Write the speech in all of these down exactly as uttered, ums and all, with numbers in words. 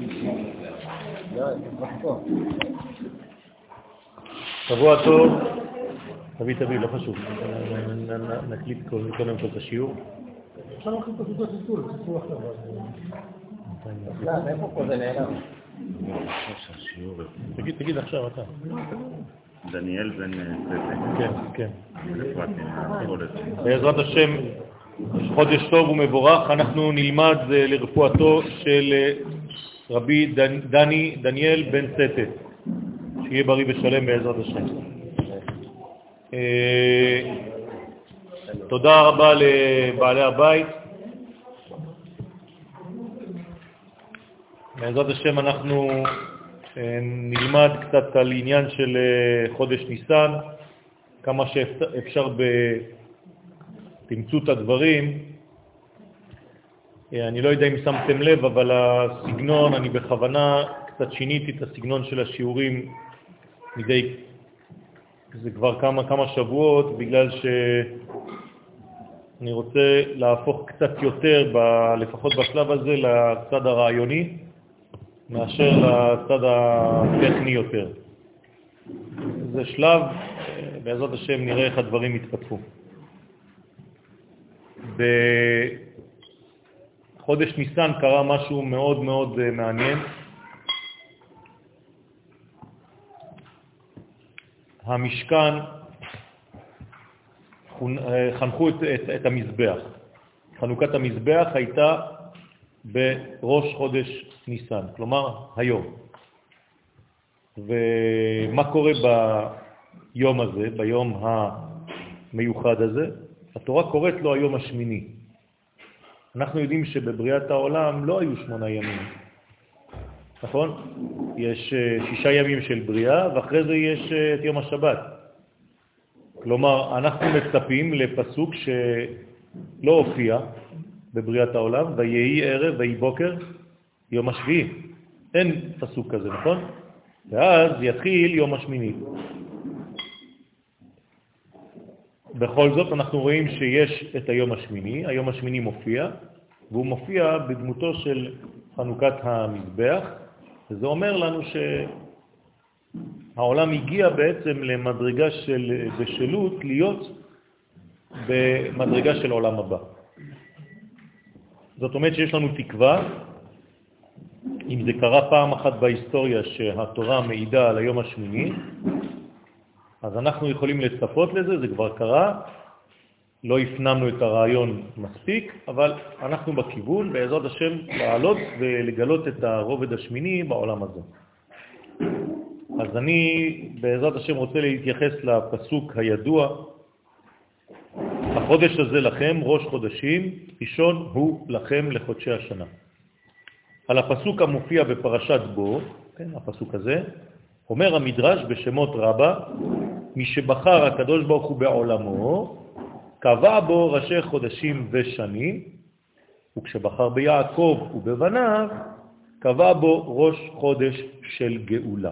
שבוע טוב, תביא תביא, לא חשוב, נקליט קודם כל את השיעור. אפשר להכין את הסודות לסול, תסול עכשיו. לא, איפה פה זה נעלם? תגיד, תגיד עכשיו אתה. דניאל בן ספק. כן, כן. בעזרת השם, חודש טוב ומבורך, אנחנו נלמד לרפואתו של רבי דני, דניאל בן סטת, שיהיה בריא ושלם בעזרת השם. תודה רבה לבעלי הבית. בעזרת השם אנחנו נלמד קצת על עניין של חודש ניסן, כמה שאפשר בתמצות הדברים. אני לא יודע אם שמתם לב, אבל הסגנון, אני בכוונה קצת שיניתי את הסגנון של השיעורים מדי, זה כבר כמה כמה שבועות, בגלל שאני רוצה להפוך קצת יותר, ב, לפחות בשלב הזה, לצד הרעיוני, מאשר לצד הטכני יותר. זה שלב, בעזרת השם נראה איך הדברים יתפתחו. בחודש ניסן קרה משהו מאוד מאוד מעניין. המשכן חנכו את, את, את המזבח. חנוכת המזבח הייתה בראש חודש ניסן, כלומר היום. ומה קורה ביום הזה, ביום המיוחד הזה? התורה קוראת לו היום השמיני. אנחנו יודעים שבבריאת העולם לא היו שמונה ימים, נכון? יש שישה ימים של בריאה, ואחרי זה יש את יום השבת. כלומר, אנחנו מצפים לפסוק שלא הופיע בבריאת העולם, ויהי ערב ויהי בוקר יום השביעי. אין פסוק כזה, נכון? ואז יתחיל יום השמיני. בכל זאת אנחנו רואים שיש את היום השמיני. היום השמיני מופיע, והוא מופיע בדמותו של חנוכת המזבח, וזה אומר לנו שהעולם הגיע בעצם למדרגה של בשלות להיות במדרגה של עולם הבא. זאת אומרת שיש לנו תקווה, אם זה קרה פעם אחת בהיסטוריה שהתורה מעידה על היום השמיני, אז אנחנו יכולים לצפות לזה, זה כבר קרה, לא הפנמנו את הרעיון מספיק, אבל אנחנו בכיוון, בעזרת השם, לעלות ולגלות את הרובד השמיני בעולם הזה. אז אני בעזרת השם רוצה להתייחס לפסוק הידוע, החודש הזה לכם, ראש חודשים, ראשון הוא לכם לחודשי השנה. על הפסוק המופיע בפרשת בו, כן, הפסוק הזה, אומר המדרש בשמות רבה, מי שבחר הקדוש ברוך הוא בעולמו, קבע בו ראשי חודשים ושנים, וכשבחר ביעקב ובבניו, קבע בו ראש חודש של גאולה.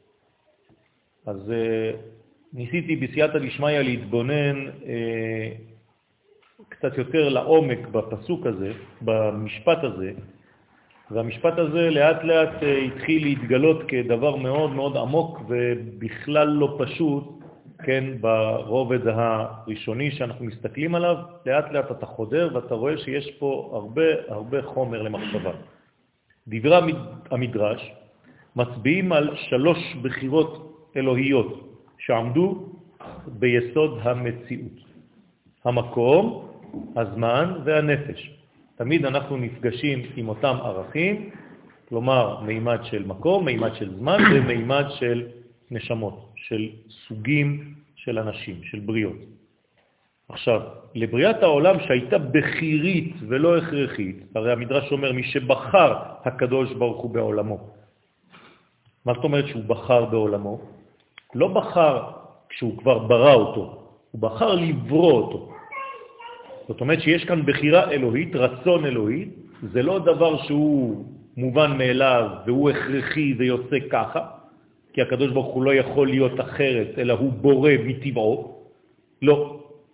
אז ניסיתי בסייעתא דשמיא להתבונן אה, קצת יותר לעומק בפסוק הזה, במשפט הזה, והמשפט הזה לאט לאט אה, התחיל להתגלות כדבר מאוד מאוד עמוק ובכלל לא פשוט, כן, ברובד הראשוני שאנחנו מסתכלים עליו, לאט לאט אתה חודר ואתה רואה שיש פה הרבה הרבה חומר למחשבה. דברי המדרש מצביעים על שלוש בחירות אלוהיות שעמדו ביסוד המציאות. המקום, הזמן והנפש. תמיד אנחנו נפגשים עם אותם ערכים, כלומר מימד של מקום, מימד של זמן ומימד של נשמות, של סוגים של אנשים, של בריאות. עכשיו, לבריאת העולם שהייתה בחירית ולא הכרחית, הרי המדרש אומר מי שבחר הקדוש ברוך הוא בעולמו. מה זאת אומרת שהוא בחר בעולמו? לא בחר כשהוא כבר ברא אותו, הוא בחר לברוא אותו. זאת אומרת שיש כאן בחירה אלוהית, רצון אלוהית, זה לא דבר שהוא מובן מאליו והוא הכרחי ויוצא ככה, כי הקדוש ברוך הוא לא יכול להיות אחרת, אלא הוא בורא מטבעו. לא.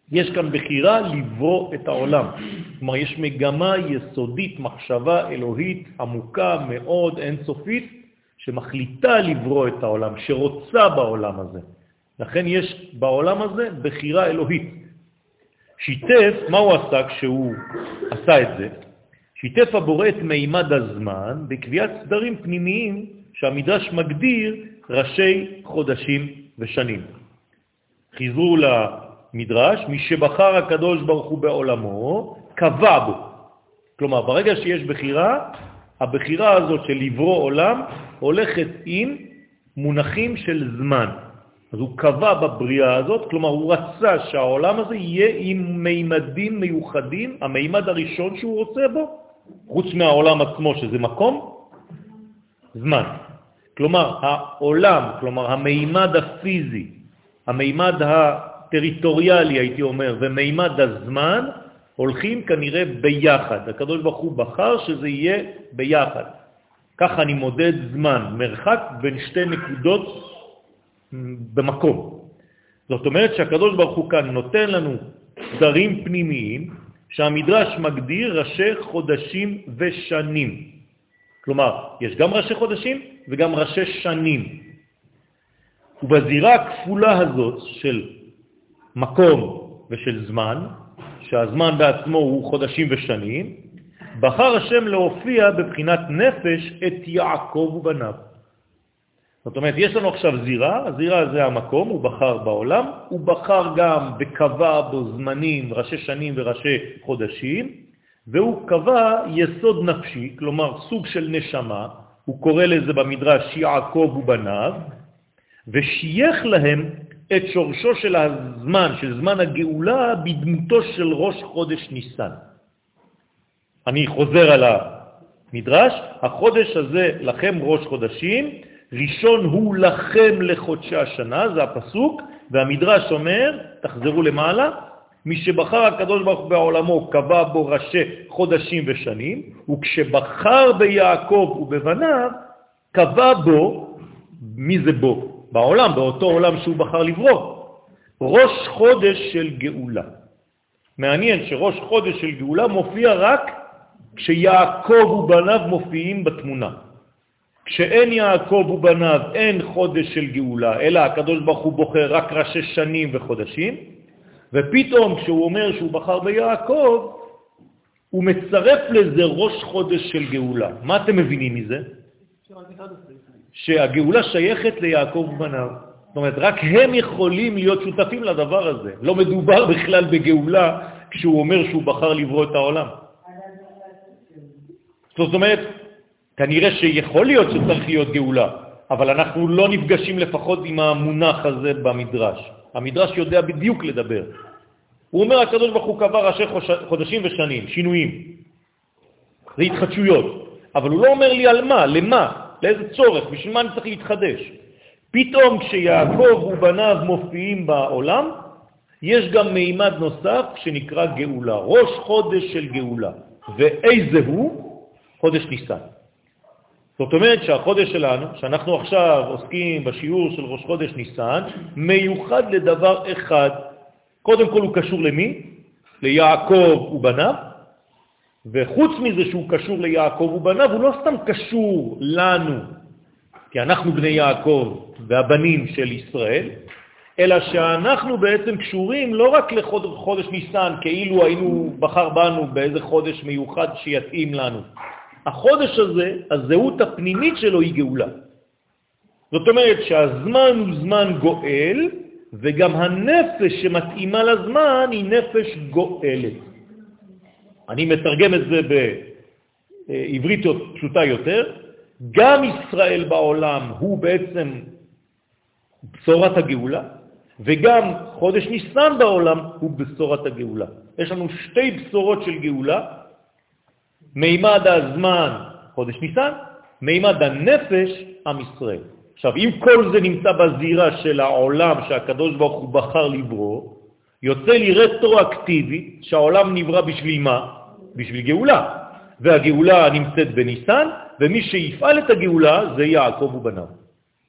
יש כאן בחירה לברוא את העולם. כלומר, יש מגמה יסודית, מחשבה אלוהית עמוקה מאוד, אינסופית, שמחליטה לברוא את העולם, שרוצה בעולם הזה. לכן יש בעולם הזה בחירה אלוהית. שיתף, מה הוא עשה כשהוא עשה את זה? שיתף הבורא את מימד הזמן בקביעת סדרים פנימיים שהמדרש מגדיר ראשי חודשים ושנים. חיזרו למדרש, מי שבחר הקדוש ברוך הוא בעולמו, קבע בו. כלומר, ברגע שיש בחירה, הבחירה הזאת של לברוא עולם הולכת עם מונחים של זמן. אז הוא קבע בבריאה הזאת, כלומר הוא רצה שהעולם הזה יהיה עם מימדים מיוחדים, המימד הראשון שהוא רוצה בו, חוץ מהעולם עצמו שזה מקום, זמן. כלומר העולם, כלומר המימד הפיזי, המימד הטריטוריאלי הייתי אומר, ומימד הזמן, הולכים כנראה ביחד. הקדוש ברוך הוא בחר שזה יהיה ביחד. ככה אני מודד זמן, מרחק בין שתי נקודות במקום. זאת אומרת שהקדוש ברוך הוא כאן נותן לנו סדרים פנימיים שהמדרש מגדיר ראשי חודשים ושנים. כלומר, יש גם ראשי חודשים וגם ראשי שנים. ובזירה הכפולה הזאת של מקום ושל זמן, שהזמן בעצמו הוא חודשים ושנים, בחר השם להופיע בבחינת נפש את יעקב ובניו. זאת אומרת, יש לנו עכשיו זירה, הזירה זה המקום, הוא בחר בעולם, הוא בחר גם וקבע בו זמנים, ראשי שנים וראשי חודשים, והוא קבע יסוד נפשי, כלומר סוג של נשמה, הוא קורא לזה במדרש יעקב ובניו, ושייך להם את שורשו של הזמן, של זמן הגאולה, בדמותו של ראש חודש ניסן. אני חוזר על המדרש, החודש הזה לכם ראש חודשים, ראשון הוא לכם לחודשי השנה, זה הפסוק, והמדרש אומר, תחזרו למעלה, מי שבחר הקדוש ברוך הוא בעולמו קבע בו ראשי חודשים ושנים, וכשבחר ביעקב ובבניו, קבע בו, מי זה בו? בעולם, באותו עולם שהוא בחר לברוא, ראש חודש של גאולה. מעניין שראש חודש של גאולה מופיע רק כשיעקב ובניו מופיעים בתמונה. כשאין יעקב ובניו אין חודש של גאולה, אלא הקדוש ברוך הוא בוחר רק ראשי שנים וחודשים, ופתאום כשהוא אומר שהוא בחר ביעקב, הוא מצרף לזה ראש חודש של גאולה. מה אתם מבינים מזה? שהגאולה שייכת ליעקב ובניו. זאת אומרת, רק הם יכולים להיות שותפים לדבר הזה. לא מדובר בכלל בגאולה כשהוא אומר שהוא בחר לברוא את העולם. זאת אומרת, כנראה שיכול להיות שצריך להיות גאולה, אבל אנחנו לא נפגשים לפחות עם המונח הזה במדרש. המדרש יודע בדיוק לדבר. הוא אומר, הקדוש ברוך הוא קבע ראשי חודשים ושנים, שינויים. זה התחדשויות. אבל הוא לא אומר לי על מה, למה, לאיזה צורך, בשביל מה אני צריך להתחדש. פתאום כשיעקב ובניו מופיעים בעולם, יש גם מימד נוסף שנקרא גאולה, ראש חודש של גאולה. ואיזה הוא? חודש ניסן. זאת אומרת שהחודש שלנו, שאנחנו עכשיו עוסקים בשיעור של ראש חודש ניסן, מיוחד לדבר אחד. קודם כל הוא קשור למי? ליעקב ובניו, וחוץ מזה שהוא קשור ליעקב ובניו, הוא לא סתם קשור לנו, כי אנחנו בני יעקב והבנים של ישראל, אלא שאנחנו בעצם קשורים לא רק לחודש ניסן, כאילו היינו בחר בנו באיזה חודש מיוחד שיתאים לנו. החודש הזה, הזהות הפנימית שלו היא גאולה. זאת אומרת שהזמן הוא זמן גואל, וגם הנפש שמתאימה לזמן היא נפש גואלת. אני מתרגם את זה בעברית פשוטה יותר. גם ישראל בעולם הוא בעצם בשורת הגאולה, וגם חודש ניסן בעולם הוא בשורת הגאולה. יש לנו שתי בשורות של גאולה, מימד הזמן חודש ניסן, מימד הנפש עם ישראל. עכשיו, אם כל זה נמצא בזירה של העולם שהקדוש ברוך הוא בחר לברוא, יוצא לי רטרואקטיבי שהעולם נברא בשביל מה? בשביל גאולה. והגאולה נמצאת בניסן, ומי שיפעל את הגאולה זה יעקב ובניו.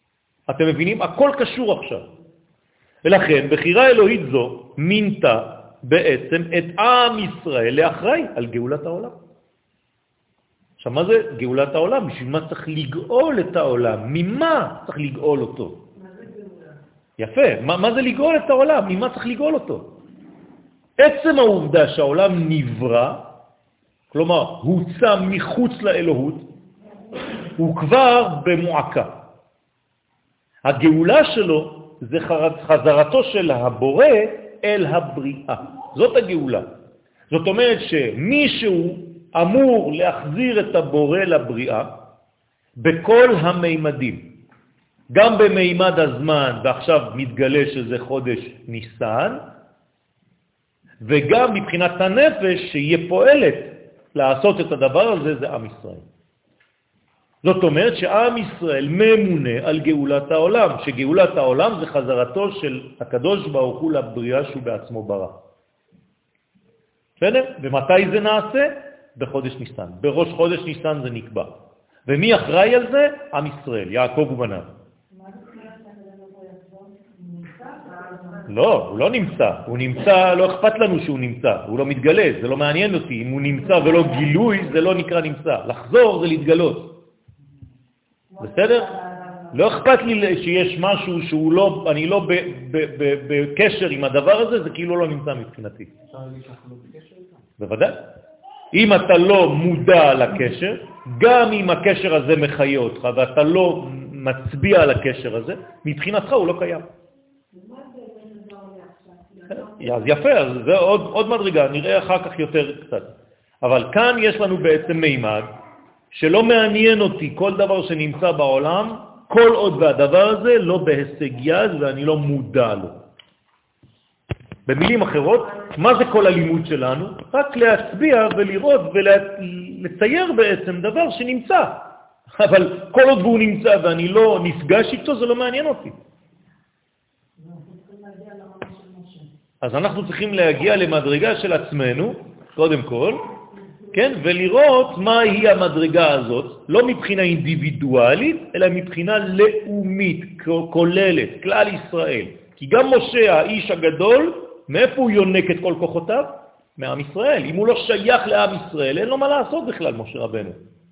אתם מבינים? הכל קשור עכשיו. ולכן, בחירה אלוהית זו מינתה בעצם את עם ישראל לאחראי על גאולת העולם. עכשיו, מה זה גאולת העולם? בשביל מה צריך לגאול את העולם? ממה צריך לגאול אותו? מה זה גאולה? יפה. מה, מה זה לגאול את העולם? ממה צריך לגאול אותו? עצם העובדה שהעולם נברא, כלומר, הוצא מחוץ לאלוהות, הוא כבר במועקה. הגאולה שלו זה חזרתו של הבורא אל הבריאה. זאת הגאולה. זאת אומרת שמישהו אמור להחזיר את הבורא לבריאה בכל המימדים. גם במימד הזמן, ועכשיו מתגלה שזה חודש ניסן, וגם מבחינת הנפש שיהיה פועלת לעשות את הדבר הזה, זה עם ישראל. זאת אומרת שעם ישראל ממונה על גאולת העולם, שגאולת העולם זה חזרתו של הקדוש ברוך הוא לבריאה שהוא בעצמו ברא. בסדר? ומתי זה נעשה? בחודש ניסן. בראש חודש ניסן זה נקבע. ומי אחראי על זה? עם ישראל, יעקב ובניו. לא, הוא לא נמצא. הוא נמצא, לא אכפת לנו שהוא נמצא. הוא לא מתגלה, זה לא מעניין אותי. אם הוא נמצא ולא גילוי, זה לא נקרא נמצא. לחזור זה להתגלות. בסדר? לא אכפת לי שיש משהו שהוא לא, אני לא בקשר עם הדבר הזה, זה כאילו לא נמצא מבחינתי. בוודאי. אם אתה לא מודע לקשר, גם אם הקשר הזה מחיה אותך, ואתה לא מצביע על הקשר הזה, מבחינתך הוא לא קיים. אז יפה, אז זה עוד, עוד מדרגה, נראה אחר כך יותר קצת. אבל כאן יש לנו בעצם מימד, שלא מעניין אותי כל דבר שנמצא בעולם, כל עוד והדבר הזה לא בהישג יד ואני לא מודע לו. במילים אחרות, מה זה כל הלימוד שלנו? רק להצביע ולראות ולצייר בעצם דבר שנמצא. אבל כל עוד הוא נמצא ואני לא נפגש איתו, זה לא מעניין אותי. אז אנחנו צריכים להגיע למדרגה של עצמנו, קודם כל, כן? ולראות מה היא המדרגה הזאת, לא מבחינה אינדיבידואלית, אלא מבחינה לאומית, כוללת, כלל ישראל. כי גם משה, האיש הגדול, מאיפה הוא יונק את כל כוחותיו? מעם ישראל. אם הוא לא שייך לעם ישראל, אין לו מה לעשות בכלל, משה רבנו.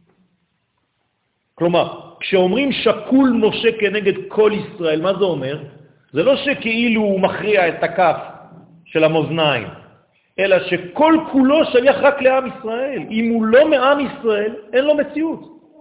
כלומר, כשאומרים שקול משה כנגד כל ישראל, מה זה אומר? זה לא שכאילו הוא מכריע את הכף של המאזניים, אלא שכל כולו שייך רק לעם ישראל. אם הוא לא מעם ישראל, אין לו מציאות.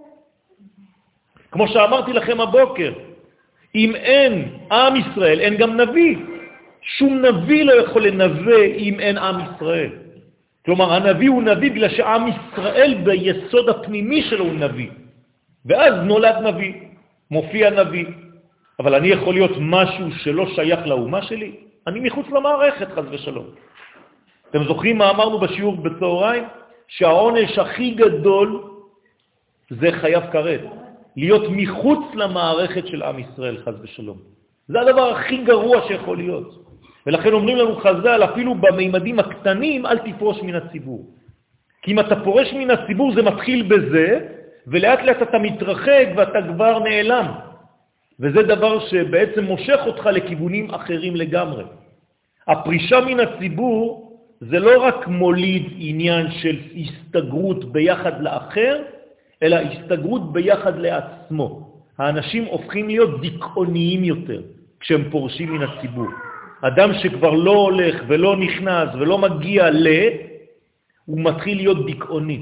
כמו שאמרתי לכם הבוקר, אם אין עם ישראל, אין גם נביא. שום נביא לא יכול לנבא אם אין עם ישראל. כלומר, הנביא הוא נביא בגלל שעם ישראל ביסוד הפנימי שלו הוא נביא. ואז נולד נביא, מופיע נביא. אבל אני יכול להיות משהו שלא שייך לאומה שלי? אני מחוץ למערכת, חס ושלום. אתם זוכרים מה אמרנו בשיעור בצהריים? שהעונש הכי גדול זה חייב כרת. להיות מחוץ למערכת של עם ישראל, חס ושלום. זה הדבר הכי גרוע שיכול להיות. ולכן אומרים לנו חז"ל, אפילו במימדים הקטנים, אל תפרוש מן הציבור. כי אם אתה פורש מן הציבור זה מתחיל בזה, ולאט לאט אתה מתרחק ואתה כבר נעלם. וזה דבר שבעצם מושך אותך לכיוונים אחרים לגמרי. הפרישה מן הציבור זה לא רק מוליד עניין של הסתגרות ביחד לאחר, אלא הסתגרות ביחד לעצמו. האנשים הופכים להיות דיכאוניים יותר כשהם פורשים מן הציבור. אדם שכבר לא הולך ולא נכנס ולא מגיע ל... הוא מתחיל להיות דיכאוני.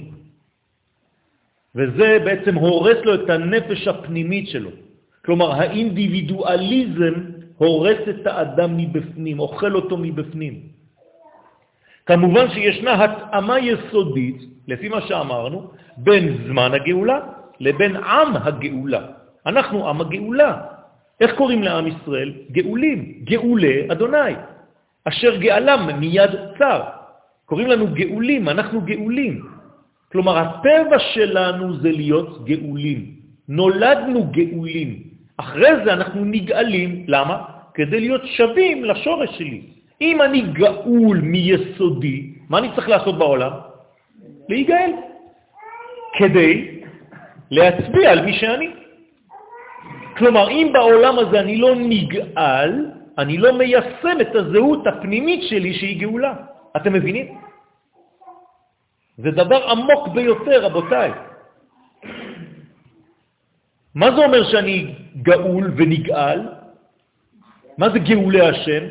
וזה בעצם הורס לו את הנפש הפנימית שלו. כלומר, האינדיבידואליזם הורס את האדם מבפנים, אוכל אותו מבפנים. כמובן שישנה התאמה יסודית, לפי מה שאמרנו, בין זמן הגאולה לבין עם הגאולה. אנחנו עם הגאולה. איך קוראים לעם ישראל? גאולים, גאולי אדוני, אשר גאלם מיד צר. קוראים לנו גאולים, אנחנו גאולים. כלומר, הטבע שלנו זה להיות גאולים. נולדנו גאולים. אחרי זה אנחנו נגאלים. למה? כדי להיות שווים לשורש שלי. אם אני גאול מיסודי, מה אני צריך לעשות בעולם? להיגאל. כדי להצביע על מי שאני. כלומר, אם בעולם הזה אני לא נגאל, אני לא מיישם את הזהות הפנימית שלי שהיא גאולה. אתם מבינים? זה דבר עמוק ביותר, רבותיי. מה זה אומר שאני גאול ונגאל? מה זה גאולי השם?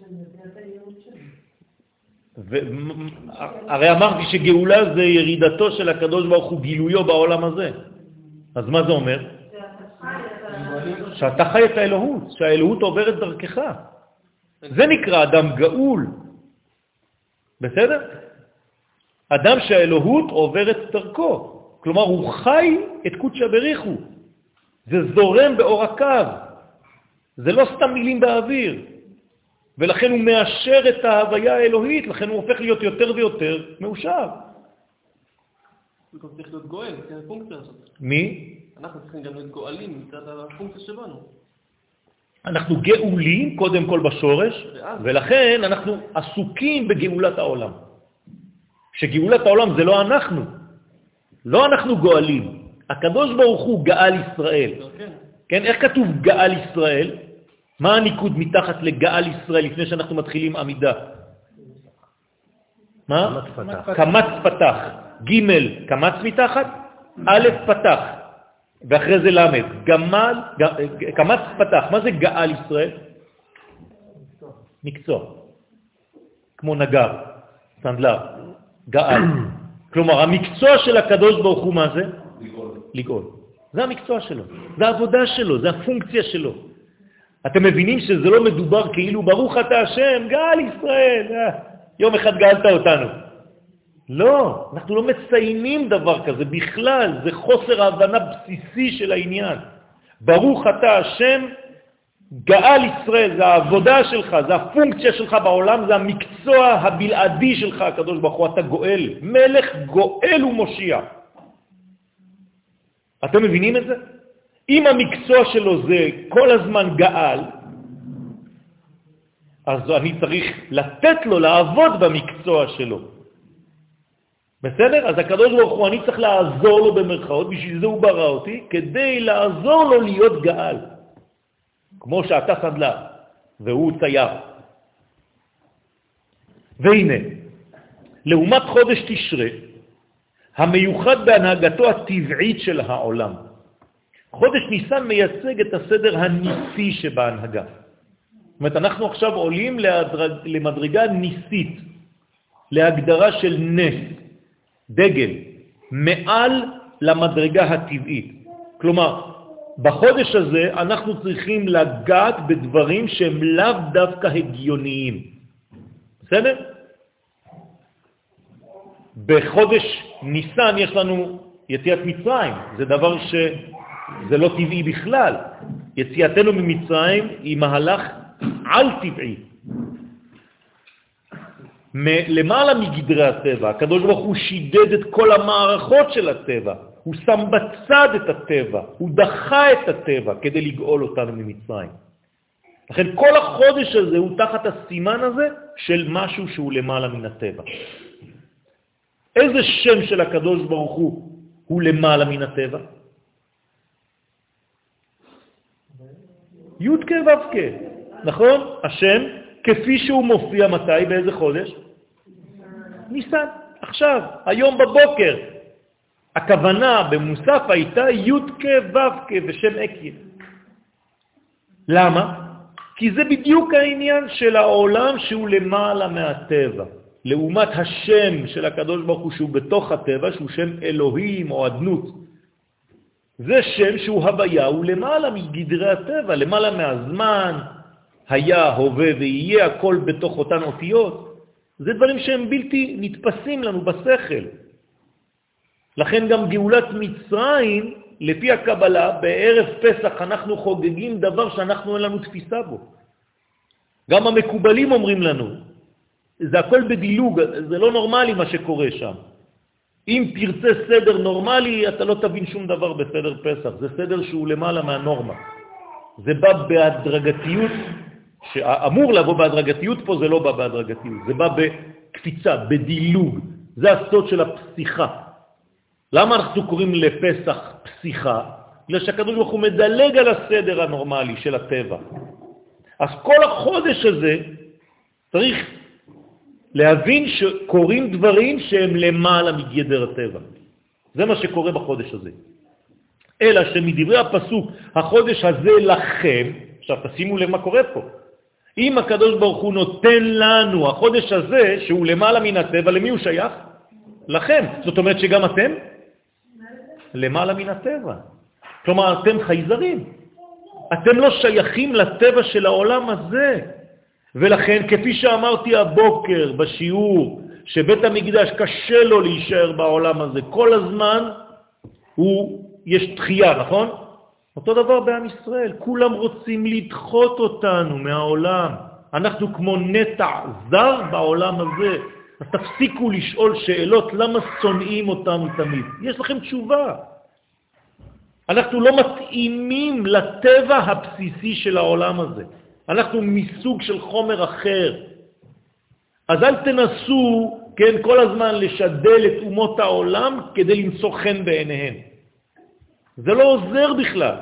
ו... הרי אמרתי שגאולה זה ירידתו של הקדוש ברוך הוא, גילויו בעולם הזה. אז מה זה אומר? שאתה חי את האלוהות, שהאלוהות עוברת דרכך. זה נקרא אדם גאול. בסדר? אדם שהאלוהות עוברת דרכו. כלומר, הוא חי את קודשא בריחו. זה זורם באור הקו. זה לא סתם מילים באוויר. ולכן הוא מאשר את ההוויה האלוהית, לכן הוא הופך להיות יותר ויותר מאושר. הוא גם צריך להיות גואל, זה הפונקציה הזאת. מי? אנחנו צריכים גם להיות גואלים מצד הפונקציה שלנו. אנחנו גאולים קודם כל בשורש, ולכן אנחנו עסוקים בגאולת העולם. שגאולת העולם זה לא אנחנו. לא אנחנו גואלים. הקדוש ברוך הוא גאל ישראל. כן. כן, איך כתוב גאל ישראל? מה הניקוד מתחת לגאל ישראל לפני שאנחנו מתחילים עמידה? מה? קמץ פתח. ג' קמץ מתחת, א' פתח. ואחרי זה למד. גמל, קמץ פתח. מה זה גאל ישראל? מקצוע. כמו נגר, סנדלר, גאל. כלומר, המקצוע של הקדוש ברוך הוא מה זה? לגאול. לגאול. זה המקצוע שלו, זה העבודה שלו, זה הפונקציה שלו. אתם מבינים שזה לא מדובר כאילו ברוך אתה השם, גאל ישראל, אה, יום אחד גאלת אותנו. לא, אנחנו לא מציינים דבר כזה בכלל, זה חוסר ההבנה בסיסי של העניין. ברוך אתה השם, גאל ישראל, זה העבודה שלך, זה הפונקציה שלך בעולם, זה המקצוע הבלעדי שלך, הקדוש ברוך הוא, אתה גואל, מלך גואל ומושיע. אתם מבינים את זה? אם המקצוע שלו זה כל הזמן גאל, אז אני צריך לתת לו לעבוד במקצוע שלו. בסדר? אז הקדוש ברוך הוא, אני צריך לעזור לו במרכאות, בשביל זה הוא ברא אותי, כדי לעזור לו להיות גאל. כמו שאתה סנדלר, והוא צייר. והנה, לעומת חודש תשרה, המיוחד בהנהגתו הטבעית של העולם. חודש ניסן מייצג את הסדר הניסי שבהנהגה. זאת אומרת, אנחנו עכשיו עולים להדרג, למדרגה ניסית, להגדרה של נס, דגל, מעל למדרגה הטבעית. כלומר, בחודש הזה אנחנו צריכים לגעת בדברים שהם לאו דווקא הגיוניים. בסדר? בחודש ניסן יש לנו יציאת מצרים, זה דבר שזה לא טבעי בכלל. יציאתנו ממצרים היא מהלך על טבעי. למעלה מגדרי הטבע, הקדוש ברוך הוא שידד את כל המערכות של הטבע, הוא שם בצד את הטבע, הוא דחה את הטבע כדי לגאול אותנו ממצרים. לכן כל החודש הזה הוא תחת הסימן הזה של משהו שהוא למעלה מן הטבע. איזה שם של הקדוש ברוך הוא הוא למעלה מן הטבע? י' כ' ו' כ', נכון? השם כפי שהוא מופיע מתי, באיזה חודש? ניסן, עכשיו, היום בבוקר. הכוונה במוסף הייתה י' כ' ו' כ' ושם אקיה. למה? כי זה בדיוק העניין של העולם שהוא למעלה מהטבע. לעומת השם של הקדוש ברוך הוא שהוא בתוך הטבע, שהוא שם אלוהים או אדנות. זה שם שהוא הוויה, הוא למעלה מגדרי הטבע, למעלה מהזמן, היה, הווה ויהיה, הכל בתוך אותן אותיות. זה דברים שהם בלתי נתפסים לנו בשכל. לכן גם גאולת מצרים, לפי הקבלה, בערב פסח אנחנו חוגגים דבר שאנחנו אין לנו תפיסה בו. גם המקובלים אומרים לנו, זה הכל בדילוג, זה לא נורמלי מה שקורה שם. אם תרצה סדר נורמלי, אתה לא תבין שום דבר בסדר פסח. זה סדר שהוא למעלה מהנורמה. זה בא בהדרגתיות, שאמור לבוא בהדרגתיות פה, זה לא בא בהדרגתיות. זה בא בקפיצה, בדילוג. זה הסוד של הפסיכה. למה אנחנו קוראים לפסח פסיכה? בגלל שהקדוש ברוך הוא מדלג על הסדר הנורמלי של הטבע. אז כל החודש הזה צריך להבין שקורים דברים שהם למעלה מגדר הטבע. זה מה שקורה בחודש הזה. אלא שמדברי הפסוק, החודש הזה לכם, עכשיו תשימו לב מה קורה פה. אם הקדוש ברוך הוא נותן לנו החודש הזה, שהוא למעלה מן הטבע, למי הוא שייך? לכם. זאת אומרת שגם אתם? למעלה מן הטבע. כלומר, אתם חייזרים. אתם לא שייכים לטבע של העולם הזה. ולכן, כפי שאמרתי הבוקר בשיעור, שבית המקדש קשה לו להישאר בעולם הזה, כל הזמן הוא, יש דחייה, נכון? אותו דבר בעם ישראל, כולם רוצים לדחות אותנו מהעולם. אנחנו כמו נטע זר בעולם הזה. אז תפסיקו לשאול שאלות, למה שונאים אותנו תמיד? יש לכם תשובה. אנחנו לא מתאימים לטבע הבסיסי של העולם הזה. אנחנו מסוג של חומר אחר. אז אל תנסו, כן, כל הזמן לשדל את אומות העולם כדי למצוא חן בעיניהם. זה לא עוזר בכלל.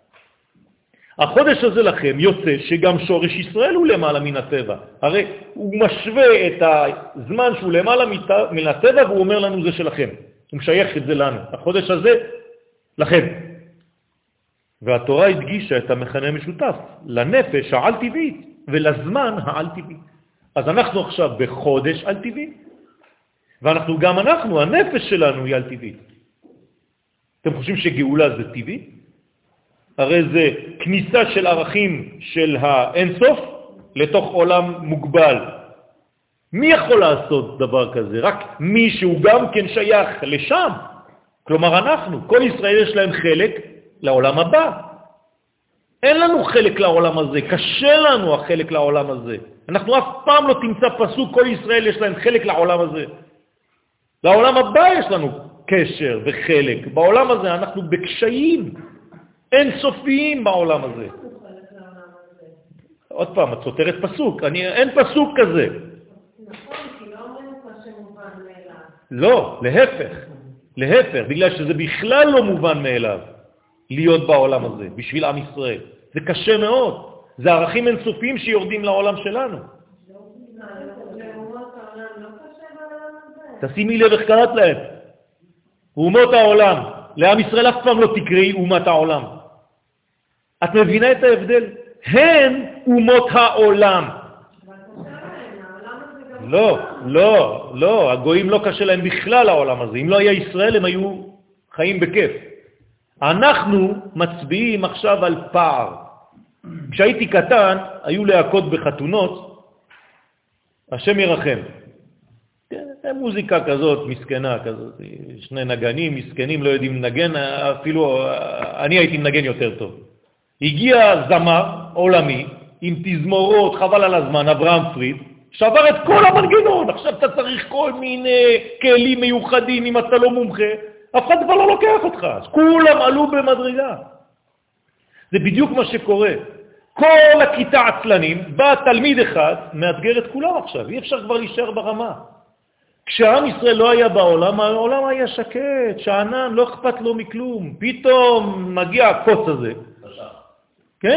החודש הזה לכם יוצא שגם שורש ישראל הוא למעלה מן הטבע. הרי הוא משווה את הזמן שהוא למעלה מן הטבע והוא אומר לנו זה שלכם. הוא משייך את זה לנו. החודש הזה לכם. והתורה הדגישה את המכנה המשותף, לנפש העל-טבעית ולזמן העל-טבעי. אז אנחנו עכשיו בחודש על-טבעי, ואנחנו גם אנחנו, הנפש שלנו היא על-טבעית. אתם חושבים שגאולה זה טבעי? הרי זה כניסה של ערכים של האינסוף לתוך עולם מוגבל. מי יכול לעשות דבר כזה? רק מי שהוא גם כן שייך לשם. כלומר אנחנו, כל ישראל יש להם חלק לעולם הבא. אין לנו חלק לעולם הזה, קשה לנו החלק לעולם הזה. אנחנו אף פעם לא תמצא פסוק, כל ישראל יש להם חלק לעולם הזה. לעולם הבא יש לנו קשר וחלק. בעולם הזה אנחנו בקשיים, אין סופיים בעולם הזה. עוד פעם, את סותרת פסוק, אני, אין פסוק כזה. נכון, כי לא אומרים לך שמובן מאליו. לא, להפך, להפך, בגלל שזה בכלל לא מובן מאליו. להיות בעולם הזה, בשביל עם ישראל. זה קשה מאוד. זה ערכים אינסופיים שיורדים לעולם שלנו. תשימי לב איך קראת להם. אומות העולם. לעם ישראל אף פעם לא תקראי אומת העולם. את מבינה את ההבדל? הן אומות העולם. לא, לא, לא. הגויים לא קשה להם בכלל העולם הזה. אם לא היה ישראל הם היו חיים בכיף. אנחנו מצביעים עכשיו על פער. כשהייתי קטן, היו להקות בחתונות, השם ירחם. מוזיקה כזאת, מסכנה כזאת, שני נגנים, מסכנים, לא יודעים לנגן, אפילו אני הייתי מנגן יותר טוב. הגיע זמר עולמי, עם תזמורות, חבל על הזמן, אברהם פריד, שבר את כל המנגנון, עכשיו אתה צריך כל מיני כלים מיוחדים, אם אתה לא מומחה, אף אחד כבר לא לוקח אותך, אז כולם עלו במדרגה. זה בדיוק מה שקורה. כל הכיתה עצלנים, בא תלמיד אחד, מאתגר את כולם עכשיו, אי אפשר כבר להישאר ברמה. כשעם ישראל לא היה בעולם, העולם היה שקט, שענן, לא אכפת לו מכלום. פתאום מגיע הקוץ הזה. כן?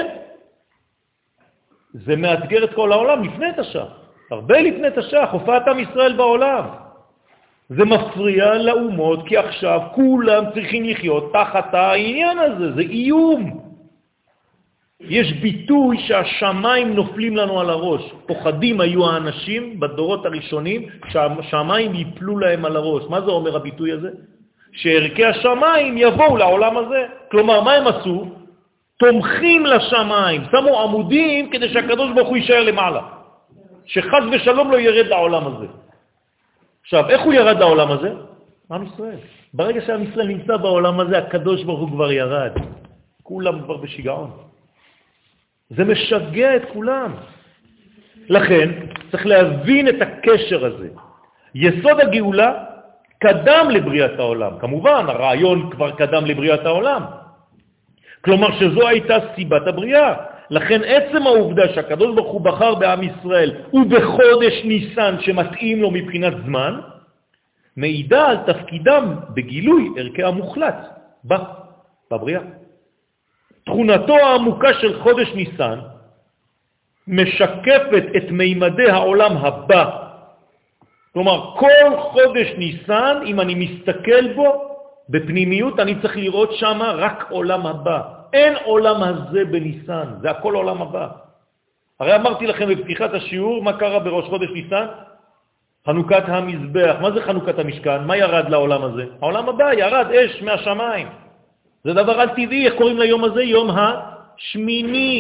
זה מאתגר את כל העולם לפני תש"ח. הרבה לפני תש"ח, הופעת עם ישראל בעולם. זה מפריע לאומות, כי עכשיו כולם צריכים לחיות תחת העניין הזה, זה איום. יש ביטוי שהשמיים נופלים לנו על הראש. פוחדים היו האנשים בדורות הראשונים שהשמיים ייפלו להם על הראש. מה זה אומר הביטוי הזה? שערכי השמיים יבואו לעולם הזה. כלומר, מה הם עשו? תומכים לשמיים, שמו עמודים כדי שהקדוש ברוך הוא יישאר למעלה. שחס ושלום לא ירד לעולם הזה. עכשיו, איך הוא ירד לעולם הזה? עם ישראל. ברגע שעם ישראל נמצא בעולם הזה, הקדוש ברוך הוא כבר ירד. כולם כבר בשיגעון. זה משגע את כולם. לכן, צריך להבין את הקשר הזה. יסוד הגאולה קדם לבריאת העולם. כמובן, הרעיון כבר קדם לבריאת העולם. כלומר שזו הייתה סיבת הבריאה. לכן עצם העובדה שהקדוש ברוך הוא בחר בעם ישראל ובחודש ניסן שמתאים לו מבחינת זמן, מעידה על תפקידם בגילוי ערכי המוחלט בבריאה. תכונתו העמוקה של חודש ניסן משקפת את מימדי העולם הבא כלומר, כל חודש ניסן, אם אני מסתכל בו בפנימיות, אני צריך לראות שם רק עולם הבא. אין עולם הזה בניסן, זה הכל עולם הבא. הרי אמרתי לכם בפתיחת השיעור, מה קרה בראש חודש ניסן? חנוכת המזבח. מה זה חנוכת המשכן? מה ירד לעולם הזה? העולם הבא ירד אש מהשמיים. זה דבר על טבעי, איך קוראים ליום הזה? יום השמיני.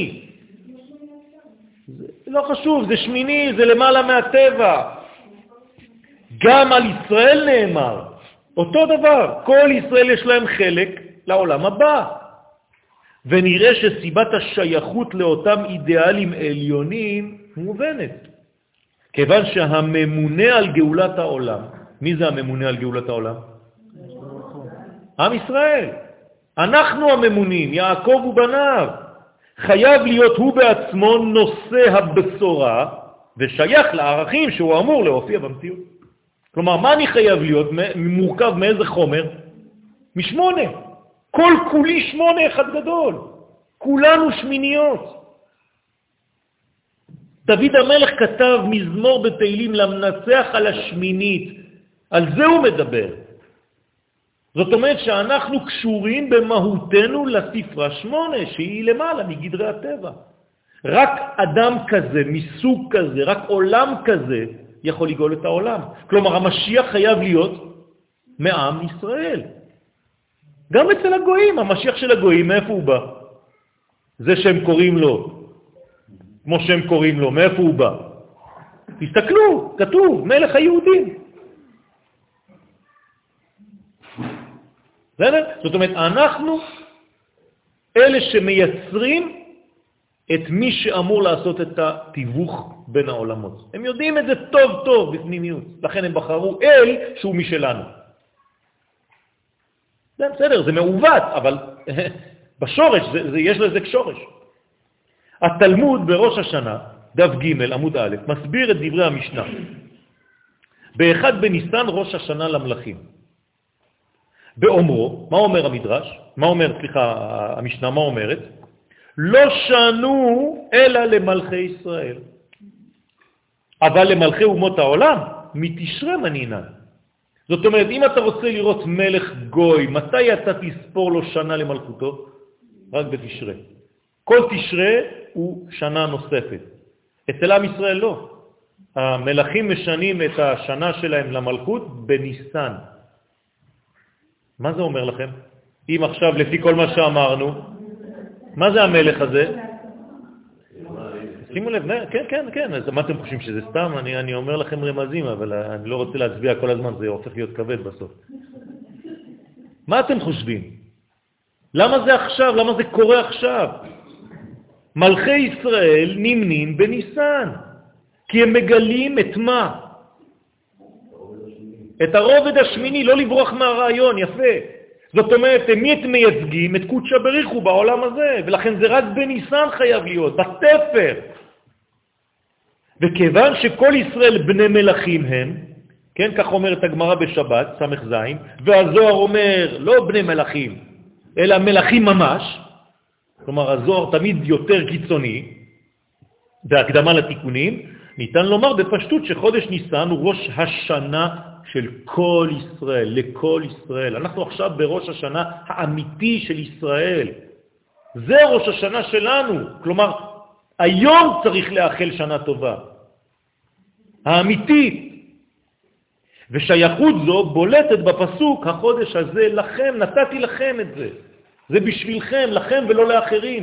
זה לא חשוב, זה שמיני, זה למעלה מהטבע. גם על ישראל נאמר, אותו דבר, כל ישראל יש להם חלק לעולם הבא. ונראה שסיבת השייכות לאותם אידיאלים עליונים מובנת. כיוון שהממונה על גאולת העולם, מי זה הממונה על גאולת העולם? עם ישראל. אנחנו הממונים, יעקב ובניו. חייב להיות הוא בעצמו נושא הבשורה, ושייך לערכים שהוא אמור להופיע במציאות. כלומר, מה אני חייב להיות? מורכב מאיזה חומר? משמונה. כל כולי שמונה אחד גדול. כולנו שמיניות. דוד המלך כתב מזמור בתהילים למנצח על השמינית. על זה הוא מדבר. זאת אומרת שאנחנו קשורים במהותנו לספרה שמונה, שהיא למעלה מגדרי הטבע. רק אדם כזה, מסוג כזה, רק עולם כזה, יכול לגאול את העולם. כלומר, המשיח חייב להיות מעם ישראל. גם אצל הגויים, המשיח של הגויים, מאיפה הוא בא? זה שהם קוראים לו, כמו שהם קוראים לו, מאיפה הוא בא? תסתכלו, כתוב, מלך היהודים. זאת אומרת, אנחנו אלה שמייצרים את מי שאמור לעשות את התיווך בין העולמות. הם יודעים את זה טוב טוב בפנימיות, לכן הם בחרו אל שהוא משלנו. זה בסדר, זה מעוות, אבל בשורש, זה, זה, יש לזה שורש. התלמוד בראש השנה, דף ג' עמוד א', מסביר את דברי המשנה. באחד בניסן ראש השנה למלכים. באומרו, מה אומר המדרש? מה אומר, סליחה, המשנה, מה אומרת? לא שנו אלא למלכי ישראל. אבל למלכי אומות העולם, מתשרה מנינן. זאת אומרת, אם אתה רוצה לראות מלך גוי, מתי אתה תספור לו שנה למלכותו? רק בתשרה. כל תשרה הוא שנה נוספת. אצל עם ישראל לא. המלכים משנים את השנה שלהם למלכות בניסן. מה זה אומר לכם? אם עכשיו, לפי כל מה שאמרנו, מה זה המלך הזה? שימו לב, כן, כן, כן, אז מה אתם חושבים שזה סתם? אני, אני אומר לכם רמזים, אבל אני לא רוצה להצביע כל הזמן, זה הופך להיות כבד בסוף. מה אתם חושבים? למה זה עכשיו? למה זה קורה עכשיו? מלכי ישראל נמנים בניסן, כי הם מגלים את מה? את הרובד השמיני, לא לברוח מהרעיון, יפה. זאת אומרת, מי את מייצגים? את קודשא בריחו בעולם הזה, ולכן זה רק בניסן חייב להיות, בספר. וכיוון שכל ישראל בני מלכים הם, כן, כך אומרת הגמרא בשבת, סמך זין, והזוהר אומר, לא בני מלכים, אלא מלכים ממש, כלומר הזוהר תמיד יותר קיצוני, בהקדמה לתיקונים, ניתן לומר בפשטות שחודש ניסן הוא ראש השנה של כל ישראל, לכל ישראל. אנחנו עכשיו בראש השנה האמיתי של ישראל. זה ראש השנה שלנו. כלומר, היום צריך לאחל שנה טובה. האמיתית. ושייכות זו בולטת בפסוק, החודש הזה לכם, נתתי לכם את זה. זה בשבילכם, לכם ולא לאחרים.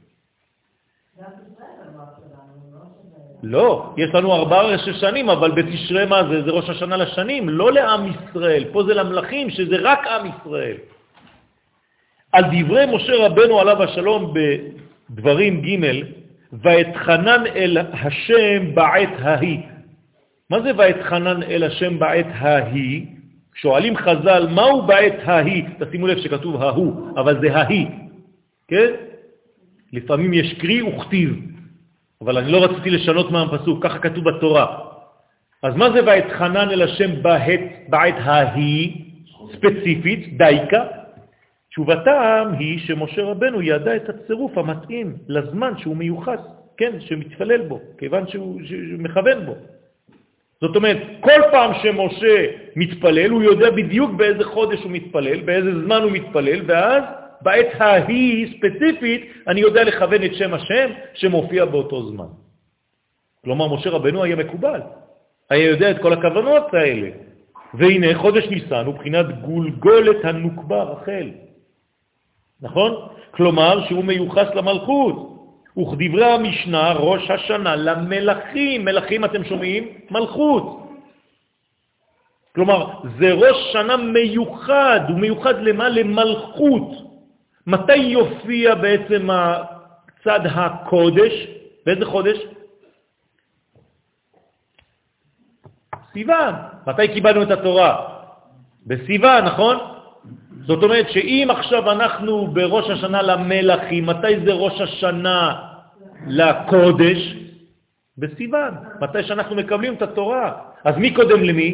לא, יש לנו ארבעה ראשי שנים, אבל בתשרה מה זה? זה ראש השנה לשנים, לא לעם ישראל. פה זה למלכים, שזה רק עם ישראל. על דברי משה רבנו עליו השלום בדברים ג' ואתחנן אל השם בעת ההיא. מה זה ואתחנן אל השם בעת ההיא? שואלים חז"ל, מהו בעת ההיא? תשימו לב שכתוב ההוא, אבל זה ההיא. כן? לפעמים יש קרי וכתיב. אבל אני לא רציתי לשנות מהפסוק, ככה כתוב בתורה. אז מה זה ואתחנן אל השם בעת, בעת ההיא, ספציפית, דייקה? תשובתם היא שמשה רבנו ידע את הצירוף המתאים לזמן שהוא מיוחס, כן, שמתפלל בו, כיוון שהוא, שהוא מכוון בו. זאת אומרת, כל פעם שמשה מתפלל, הוא יודע בדיוק באיזה חודש הוא מתפלל, באיזה זמן הוא מתפלל, ואז בעת ההיא ספציפית, אני יודע לכוון את שם השם שמופיע באותו זמן. כלומר, משה רבנו היה מקובל, היה יודע את כל הכוונות האלה. והנה, חודש ניסן הוא בחינת גולגולת הנוקבה רחל. נכון? כלומר, שהוא מיוחס למלכות. וכדברי המשנה, ראש השנה למלכים. מלכים, אתם שומעים? מלכות. כלומר, זה ראש שנה מיוחד. הוא מיוחד למה? למלכות. מתי יופיע בעצם הצד הקודש? באיזה חודש? סיוון. מתי קיבלנו את התורה? בסיוון, נכון? זאת אומרת שאם עכשיו אנחנו בראש השנה למלכים, מתי זה ראש השנה לקודש? בסיוון. מתי שאנחנו מקבלים את התורה. אז מי קודם למי?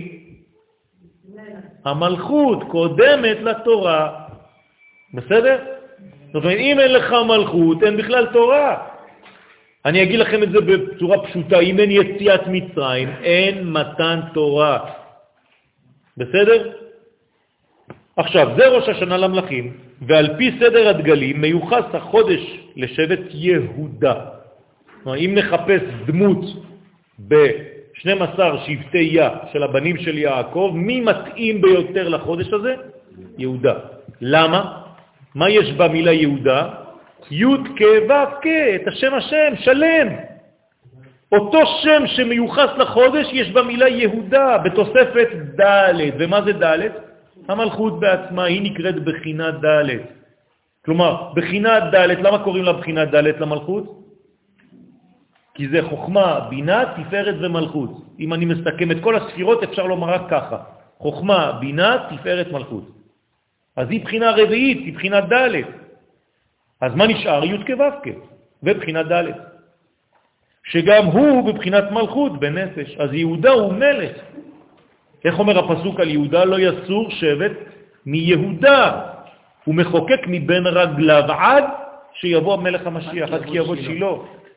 המלכות קודמת לתורה. בסדר? זאת אומרת, אם אין לך מלכות, אין בכלל תורה. אני אגיד לכם את זה בצורה פשוטה, אם אין יציאת מצרים, אין מתן תורה. בסדר? עכשיו, זה ראש השנה למלכים, ועל פי סדר הדגלים מיוחס החודש לשבט יהודה. אם נחפש דמות ב-שנים עשר שבטי יה של הבנים של יעקב, מי מתאים ביותר לחודש הזה? יהודה. למה? מה יש במילה יהודה? י' כ' ו' כ', את השם השם, שלם. אותו שם שמיוחס לחודש יש במילה יהודה, בתוספת ד'. ומה זה ד'? המלכות בעצמה, היא נקראת בחינת ד'. כלומר, בחינת ד', למה קוראים לה בחינת ד' למלכות? כי זה חוכמה, בינה, תפארת ומלכות. אם אני מסתכם את כל הספירות, אפשר לומר רק ככה. חוכמה, בינה, תפארת, מלכות. אז היא בחינה רביעית, היא בחינת ד'. אז מה נשאר? י' כ' ו' כ', ובחינת ד'. שגם הוא בבחינת מלכות בנפש. אז יהודה הוא מלך. איך אומר הפסוק על יהודה? לא יסור שבט מיהודה. הוא מחוקק מבין רגליו עד שיבוא המלך המשיח, עד כי יבוא שילה.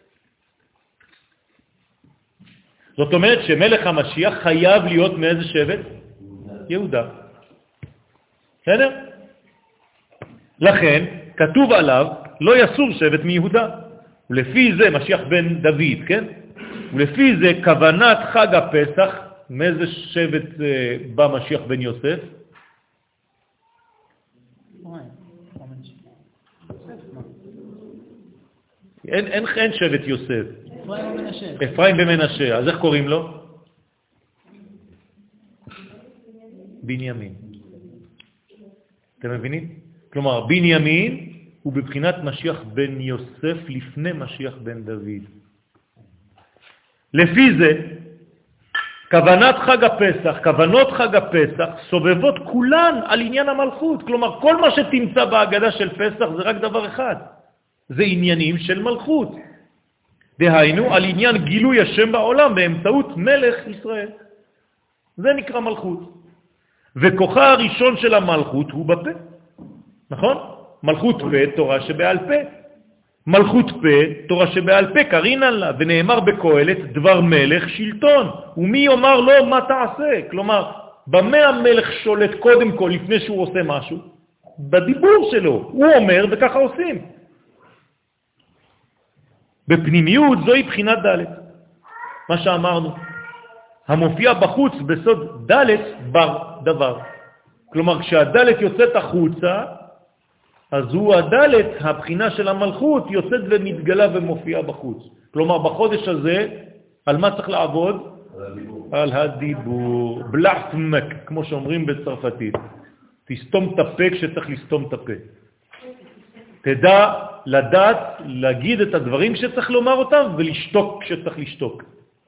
זאת אומרת שמלך המשיח חייב להיות מאיזה שבט? יהודה. בסדר? לכן כתוב עליו לא יסור שבט מיהודה. ולפי זה משיח בן דוד, כן? ולפי זה כוונת חג הפסח, מאיזה שבט בא משיח בן יוסף? אין, אין, אין שבט יוסף. אפרים במנשה. אפרים במנשה. אז איך קוראים לו? בנימין. אתם מבינים? כלומר, בנימין הוא בבחינת משיח בן יוסף לפני משיח בן דוד. לפי זה, כוונת חג הפסח, כוונות חג הפסח, סובבות כולן על עניין המלכות. כלומר, כל מה שתמצא בהגדה של פסח זה רק דבר אחד. זה עניינים של מלכות. דהיינו, על עניין גילוי השם בעולם באמצעות מלך ישראל. זה נקרא מלכות. וכוחה הראשון של המלכות הוא בפה. נכון? מלכות פה, תורה שבעל פה. מלכות פה, תורה שבעל פה, קרינן לה, ונאמר בקהלת, דבר מלך שלטון. ומי יאמר לו מה תעשה? כלומר, במה המלך שולט קודם כל לפני שהוא עושה משהו? בדיבור שלו. הוא אומר וככה עושים. בפנימיות זוהי בחינת ד', מה שאמרנו. המופיע בחוץ בסוד ד' בר דבר. כלומר, כשהד' יוצאת החוצה, אז הוא הד', הבחינה של המלכות, יוצאת ומתגלה ומופיעה בחוץ. כלומר, בחודש הזה, על מה צריך לעבוד? על הדיבור. על הדיבור. בלעפמק, כמו שאומרים בצרפתית. תסתום את הפה כשצריך לסתום את הפה. תדע לדעת, להגיד את הדברים שצריך לומר אותם, ולשתוק כשצריך לשתוק.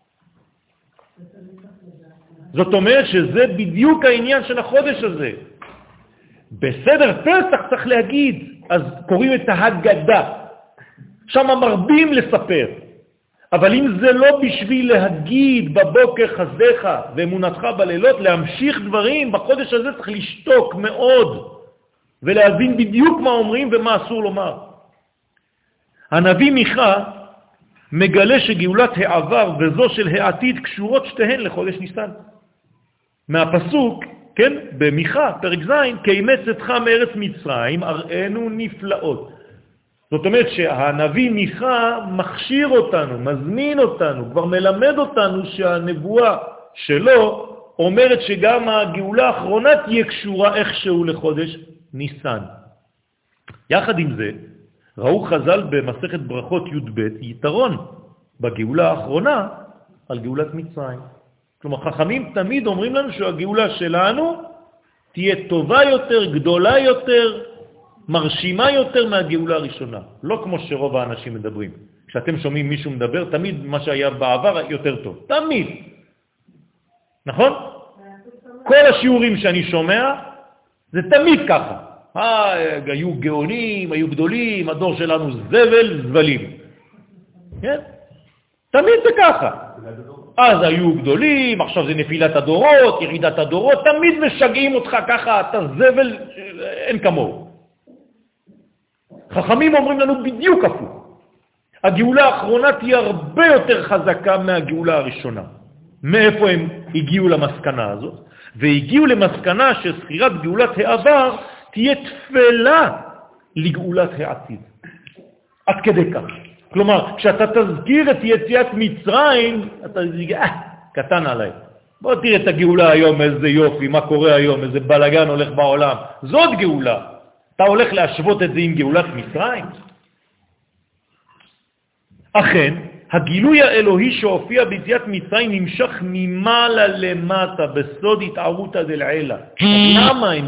זאת אומרת שזה בדיוק העניין של החודש הזה. בסדר פסח צריך להגיד, אז קוראים את ההגדה. שם מרבים לספר. אבל אם זה לא בשביל להגיד בבוקר חסדך ואמונתך בלילות, להמשיך דברים, בחודש הזה צריך לשתוק מאוד, ולהבין בדיוק מה אומרים ומה אסור לומר. הנביא מיכה מגלה שגאולת העבר וזו של העתיד קשורות שתיהן לחודש ניסן. מהפסוק, כן, במיכה, פרק ז', כי אימץ אתך מארץ מצרים, אראנו נפלאות. זאת אומרת שהנביא מיכה מכשיר אותנו, מזמין אותנו, כבר מלמד אותנו שהנבואה שלו אומרת שגם הגאולה האחרונה תהיה קשורה איכשהו לחודש ניסן. יחד עם זה, ראו חז"ל במסכת ברכות י"ב יתרון בגאולה האחרונה על גאולת מצרים. כלומר, חכמים תמיד אומרים לנו שהגאולה שלנו תהיה טובה יותר, גדולה יותר, מרשימה יותר מהגאולה הראשונה. לא כמו שרוב האנשים מדברים. כשאתם שומעים מישהו מדבר, תמיד מה שהיה בעבר יותר טוב. תמיד. נכון? כל השיעורים שאני שומע, זה תמיד ככה. אה, היו גאונים, היו גדולים, הדור שלנו זבל, זבלים. כן? תמיד זה ככה. אז היו גדולים, עכשיו זה נפילת הדורות, ירידת הדורות, תמיד משגעים אותך ככה, אתה זבל, אין כמוהו. חכמים אומרים לנו בדיוק הפוך. הגאולה האחרונה תהיה הרבה יותר חזקה מהגאולה הראשונה. מאיפה הם הגיעו למסקנה הזאת? והגיעו למסקנה שסחירת גאולת העבר תהיה תפלה לגאולת העתיד. עד כדי כך. כלומר, כשאתה תזכיר את יציאת מצרים, אתה תגיד, אה, קטן עליי. בוא תראה את הגאולה היום, איזה יופי, מה קורה היום, איזה בלגן הולך בעולם. זאת גאולה. אתה הולך להשוות את זה עם גאולת מצרים? אכן, הגילוי האלוהי שהופיע ביציאת מצרים נמשך ממעלה למטה, בסוד התערותא דלעילא. למה הם